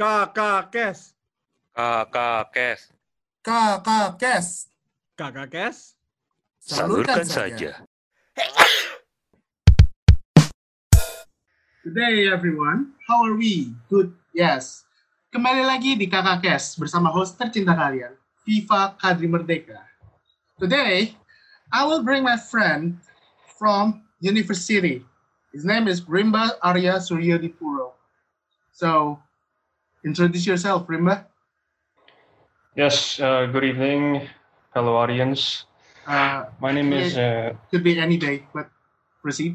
Kakak Kes. Kakak Kes. Kakak Kes. Kakak Kes. Salurkan saja. Good day everyone, how are we? Good, yes. Kembali lagi di Kakak Kes bersama host tercinta kalian, Viva Kadri Merdeka. Today, I will bring my friend from university. His name is Rimba Arya Suryodipuro. So, introduce yourself, Rimba. Yes, good evening, fellow audience. My name is... Could be any day, but proceed.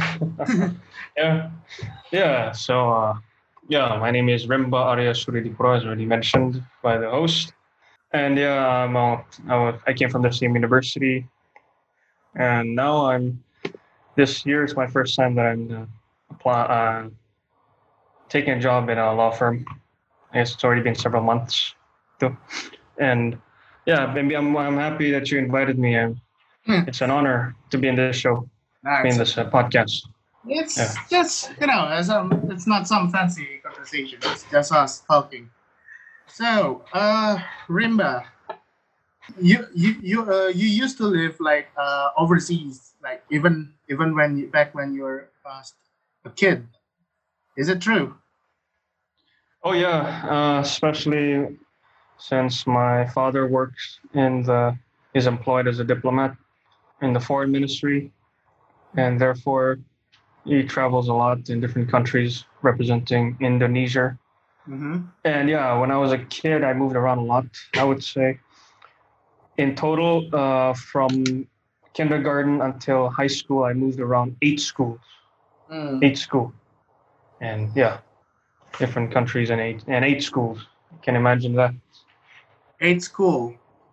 My name is Rimba Arya Suryodipuro, as already mentioned by the host. And I came from the same university. And now this year is my first time that I'm taking a job in a law firm. I guess it's already been several months. And maybe I'm happy that you invited me. It's an honor to be in this show, in this podcast. It's just, it's not some fancy conversation. It's just us talking. So, Rimba, you used to live overseas, like even when you were a kid. Is it true? Oh yeah, especially since my father is employed as a diplomat in the foreign ministry, and therefore he travels a lot in different countries representing Indonesia. Mm-hmm. And when I was a kid, I moved around a lot. I would say in total, from kindergarten until high school, I moved around 8 schools. 8 schools. And different countries and eight schools. You can imagine that. 8 schools.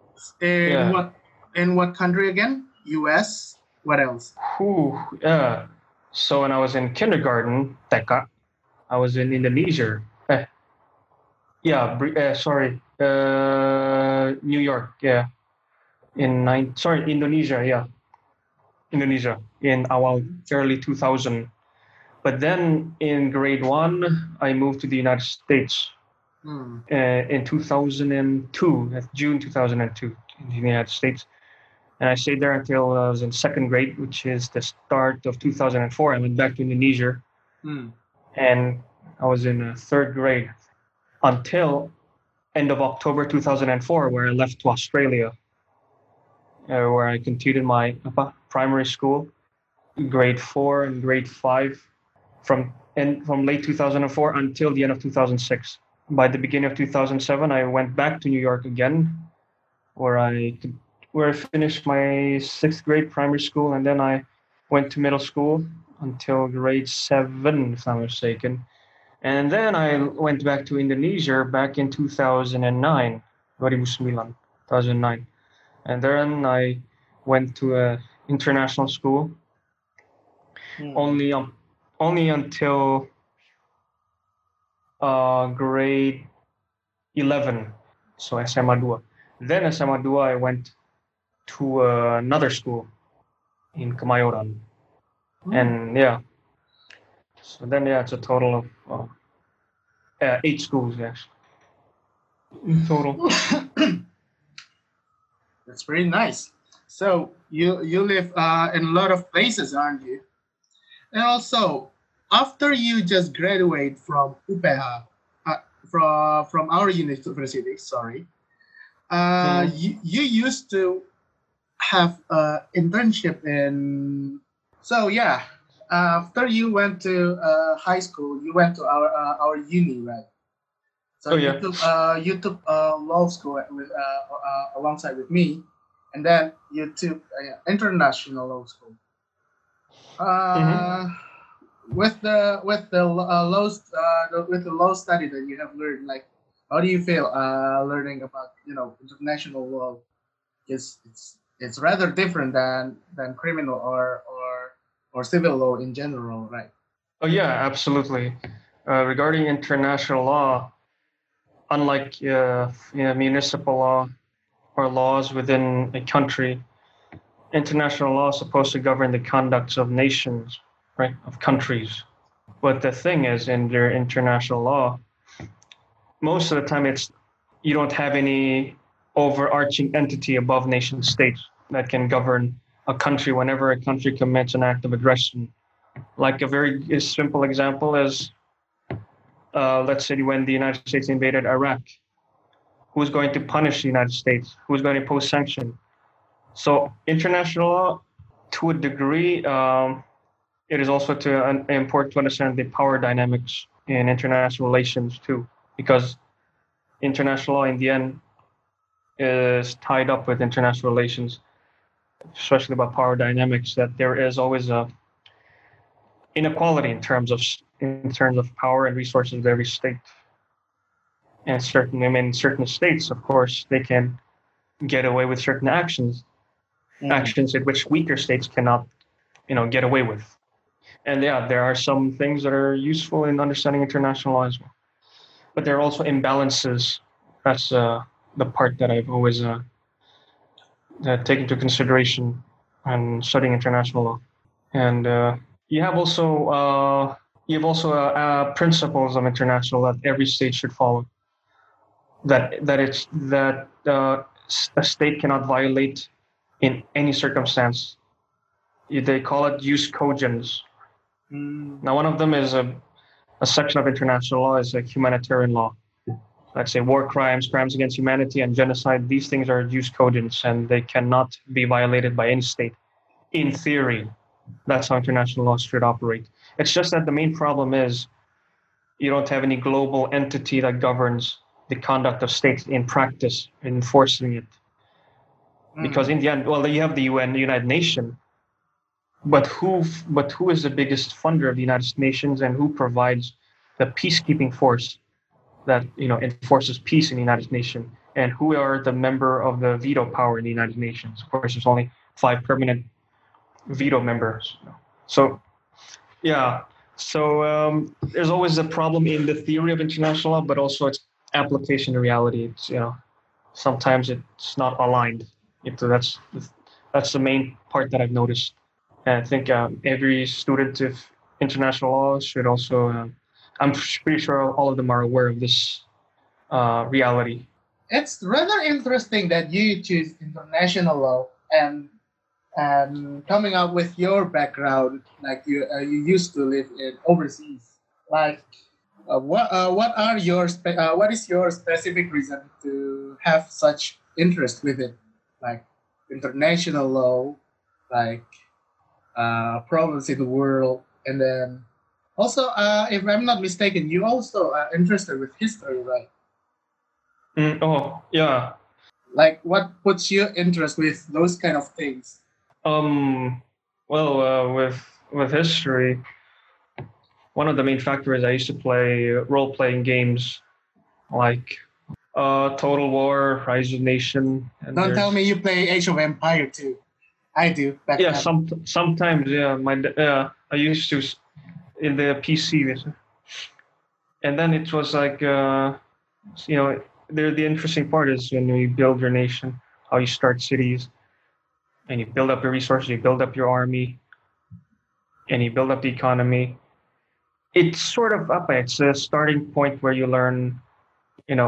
In what country again? US? What else? So when I was in kindergarten, TK, I was in Indonesia. New York. Yeah. Indonesia. Yeah. Indonesia in early 2000. But then in grade 1, I moved to the United States in 2002, June 2002, in the United States. And I stayed there until I was in 2nd grade, which is the start of 2004. I went back to Indonesia. And I was in 3rd grade until end of October 2004, where I left to Australia, where I continued my primary school, grade 4 and grade 5. From late 2004 until the end of 2006. By the beginning of 2007, I went back to New York again, where I finished my 6th grade primary school, and then I went to middle school until grade 7, if I'm not mistaken. And then I went back to Indonesia back in 2009, 2009. And then I went to an international school, only until grade 11, so SMA 2. Then SMA 2, I went to another school in Kemayoran. And so then it's a total of 8 schools, actually. Total. That's pretty nice. So you live in a lot of places, aren't you? And also, after you just graduate from UPH, from our university, you used to have an internship in. So after you went to high school, you went to our uni, right? So you took law school alongside with me, and then you took international law school. With the law study that you have learned, like, how do you feel learning about international law? It's rather different than criminal or civil law in general, right? Oh yeah, absolutely. Regarding international law, unlike municipal law or laws within a country, international law is supposed to govern the conducts of nations, right, of countries. But the thing is, in their international law, most of the time you don't have any overarching entity above nation states that can govern a country whenever a country commits an act of aggression. Like a very simple example is, let's say when the United States invaded Iraq, who's going to punish the United States? Who's going to impose sanctions? So international law, to a degree, it is also important to understand the power dynamics in international relations too, because international law in the end is tied up with international relations, especially about power dynamics, that there is always a inequality in terms of power and resources of every state. And certain states, of course, they can get away with certain actions in which weaker states cannot, get away with. And yeah, there are some things that are useful in understanding international law as well. But there are also imbalances. That's the part that I've always taken into consideration when studying international law. And you have also principles of international law that every state should follow. That a state cannot violate in any circumstance. They call it jus cogens. Now, one of them is a section of international law is like humanitarian law. Let's say war crimes, crimes against humanity, and genocide. These things are jus cogens, and they cannot be violated by any state. In theory, that's how international law should operate. It's just that the main problem is you don't have any global entity that governs the conduct of states in practice, enforcing it. Because in the end, well, you have the UN, the United Nations, but who is the biggest funder of the United Nations, and who provides the peacekeeping force that enforces peace in the United Nations, and who are the member of the veto power in the United Nations? Of course, there's only 5 permanent veto members. So, yeah. So there's always a problem in the theory of international law, but also its application in reality. It's sometimes it's not aligned. That's the main part that I've noticed. And I think every student of international law should also. I'm pretty sure all of them are aware of this reality. It's rather interesting that you choose international law and coming up with your background, like you used to live in overseas. Like, what is your specific reason to have such interest with it, like international law, like problems in the world, and then also, if I'm not mistaken, you also are interested with history, right? Oh, yeah. Like, what puts you interest with those kind of things? Well, with history, one of the main factors I used to play role-playing games like Total War, Rise of Nation. And Don't tell me you play Age of Empire too. I do. Yeah, sometimes. Yeah, I used to in the PC, and then it was like the interesting part is when you build your nation, how you start cities, and you build up your resources, you build up your army, and you build up the economy. It's sort of it's a starting point where you learn, in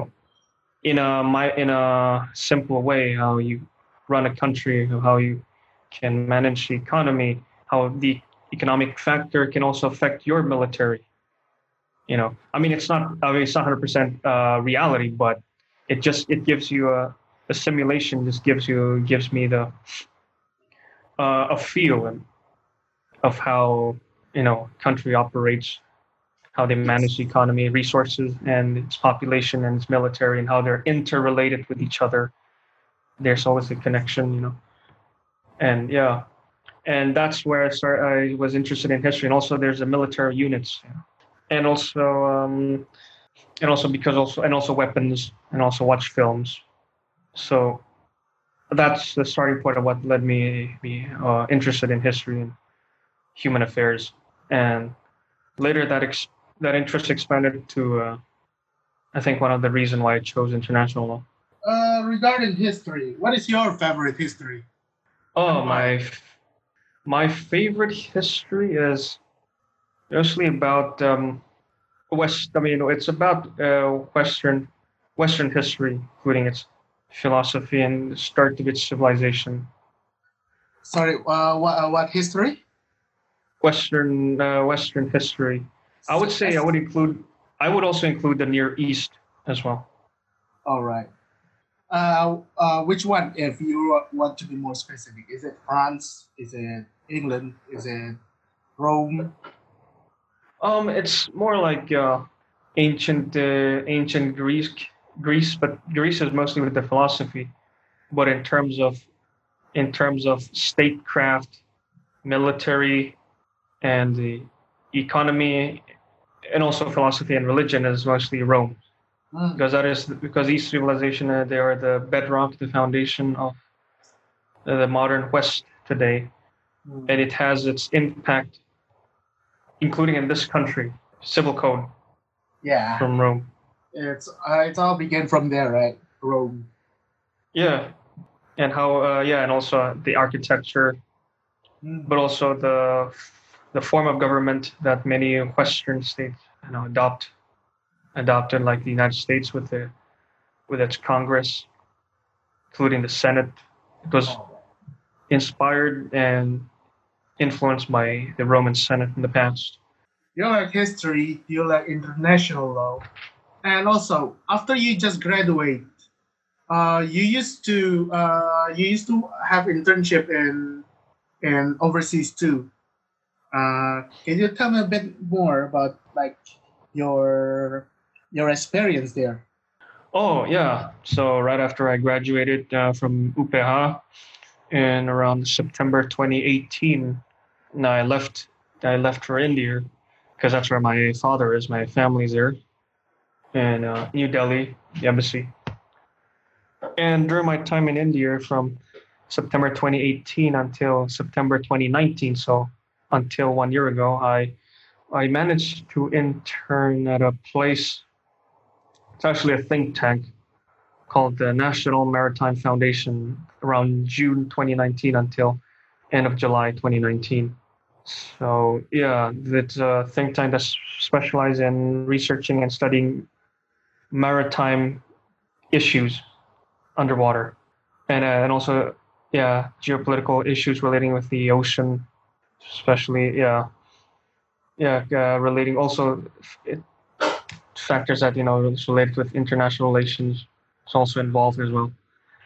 a simple way, how you run a country, how you can manage the economy, how the economic factor can also affect your military. It's not 100% reality, but it gives you a simulation. Just gives me the a feel of how country operates, how they manage the economy, resources, and its population and its military, and how they're interrelated with each other. There's always a connection, and yeah. And that's where I was interested in history, and also there's the military units, and also weapons, and also watch films. So that's the starting point of what led me be interested in history and human affairs. And later that interest expanded to, I think, one of the reasons why I chose international law. Regarding history, what is your favorite history? Oh, my favorite history is mostly about It's about Western history, including its philosophy and the start of its civilization. Sorry, what history? Western history. I would say I would also include the Near East as well. All right. Which one, if you want to be more specific? Is it France? Is it England? Is it Rome? It's more like ancient Greece, but Greece is mostly with the philosophy. But in terms of statecraft, military, and the economy, and also philosophy and religion, is mostly Rome. Because these civilization they are the bedrock, the foundation of the modern West today, and it has its impact, including in this country, civil code. Yeah, from Rome. It's all began from there, right? Rome. Yeah, and and also the architecture, but also the form of government that many Western states adopted, like the United States with its Congress, including the Senate. It was inspired and influenced by the Roman Senate in the past. You like history, you like international law, and also after you just graduate, you used to have internship in overseas too. Can you tell me a bit more about like your experience there? Oh yeah. So right after I graduated from UPH in around September 2018, and I left for India because that's where my father is. My family's there in New Delhi, the embassy. And during my time in India, from September 2018 until September 2019, so until 1 year ago, I managed to intern at a place. It's actually a think tank called the National Maritime Foundation around June 2019 until end of July 2019. So yeah, it's a think tank that specializes in researching and studying maritime issues underwater, and also geopolitical issues relating with the ocean, especially relating also factors that related with international relations. It's also involved as well.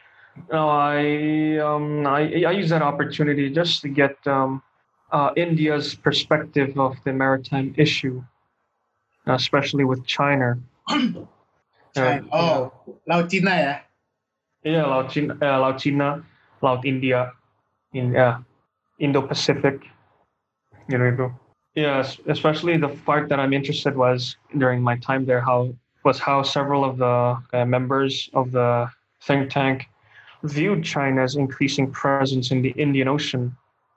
I use that opportunity just to get India's perspective of the maritime issue, especially with China. China. Laut Cina ya? Yeah, Laut China, Laut India, Indo-Pacific, gitu. Yes, especially the part that I'm interested was during my time there, how several of the members of the think tank viewed China's increasing presence in the Indian Ocean.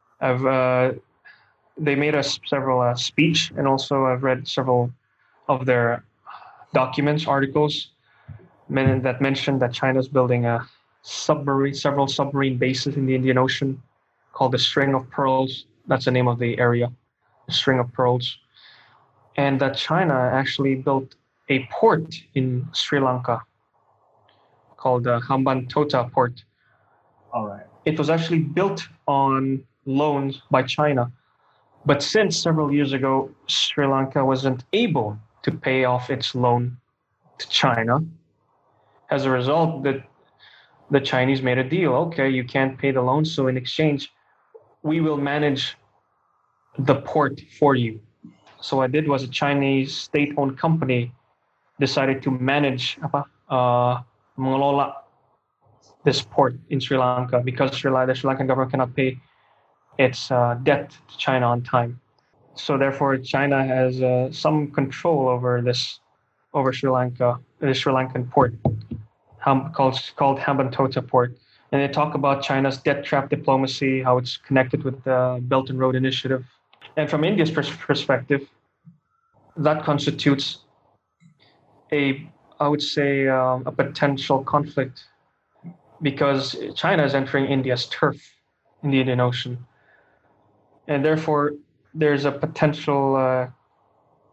They made us several speech, and also I've read several of their documents, articles, that mentioned that China's building several submarine bases in the Indian Ocean called the String of Pearls. That's the name of the area, the String of Pearls. And that China actually built a port in Sri Lanka called the Hambantota Port. All right. It was actually built on loans by China. But since several years ago, Sri Lanka wasn't able to pay off its loan to China. As a result, the Chinese made a deal. Okay, you can't pay the loan, so in exchange, we will manage the port for you. So what I did was a Chinese state-owned company decided to manage, mengelola this port in Sri Lanka because the Sri Lankan government cannot pay its debt to China on time. So therefore, China has some control over Sri Lanka, the Sri Lankan port, called Hambantota Port. And they talk about China's debt trap diplomacy, how it's connected with the Belt and Road Initiative. And from India's perspective, that constitutes a potential conflict because China is entering India's turf in the Indian Ocean. And therefore, there's a potential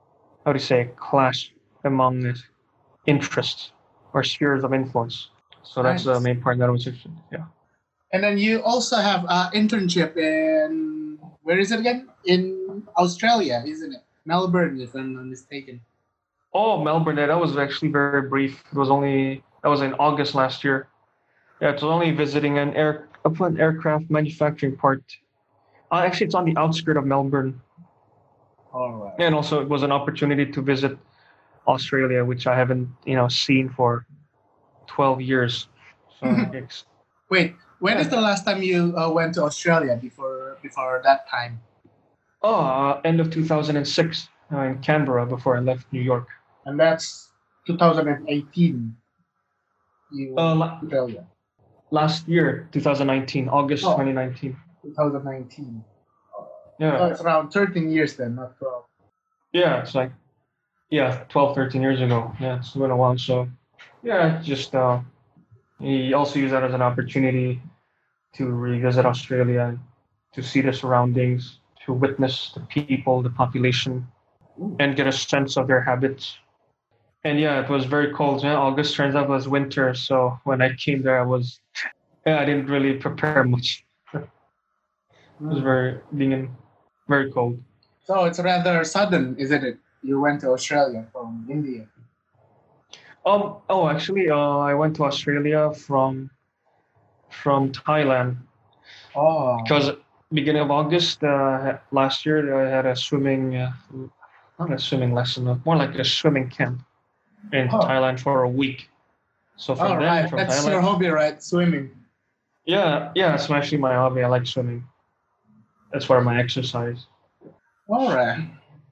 how do you say, clash among interests or spheres of influence. So that's the Nice. main part that I was interested in. Yeah. And then you also have an internship in, where is it again? In Australia, isn't it? Melbourne, if I'm not mistaken. Oh, Melbourne, that was actually very brief. That was in August last year. Yeah, it was only visiting an aircraft manufacturing part. Actually, it's on the outskirts of Melbourne. All right. And also, it was an opportunity to visit Australia, which I haven't, seen for 12 years. So, Wait, when is the last time you went to Australia before that time? end of 2006 in Canberra before I left New York. And that's 2018. You went La- to Australia. Last year, 2019, August Oh. 2019. 2019. Yeah. So it's around 13 years then, not 12. Yeah, it's like, 12, 13 years ago. Yeah, it's been a while. So, just he also used that as an opportunity to revisit Australia and to see the surroundings, to witness the people, the population, and get a sense of their habits. And it was very cold. Yeah, August turns out was winter. So when I came there, I didn't really prepare much. It was very cold. So it's rather sudden, isn't it? You went to Australia from India. Actually, I went to Australia from Thailand Oh. because beginning of August last year I had a swimming, not a swimming lesson, more like a swimming camp in Oh. Thailand for a week. So All right, from that's Thailand, your hobby, right? Swimming. yeah, it's actually my hobby. I like swimming. That's part of my exercise. All right.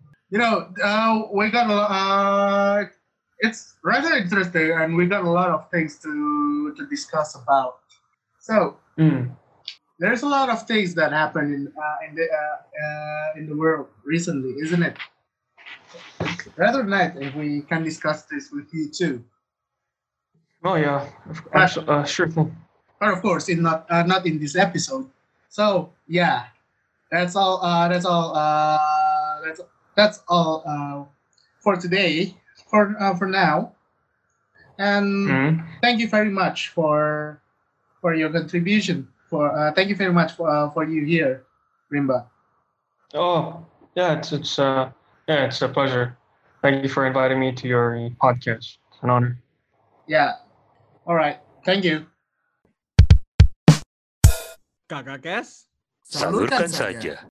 We got it's rather interesting, and we got a lot of things to discuss about. So Mm. there's a lot of things that happen in the world recently, isn't it? Rather nice if we can discuss this with you too. Oh yeah, sure thing. But of course, not in this episode. So yeah, that's all. That's all for today. For now, and Mm. thank you very much for your contribution. Thank you very much for you here, Rimba. Oh yeah, it's a pleasure. Thank you for inviting me to your podcast. It's an honor. Yeah. All right. Thank you. Kakak Kes. Salurkan saja.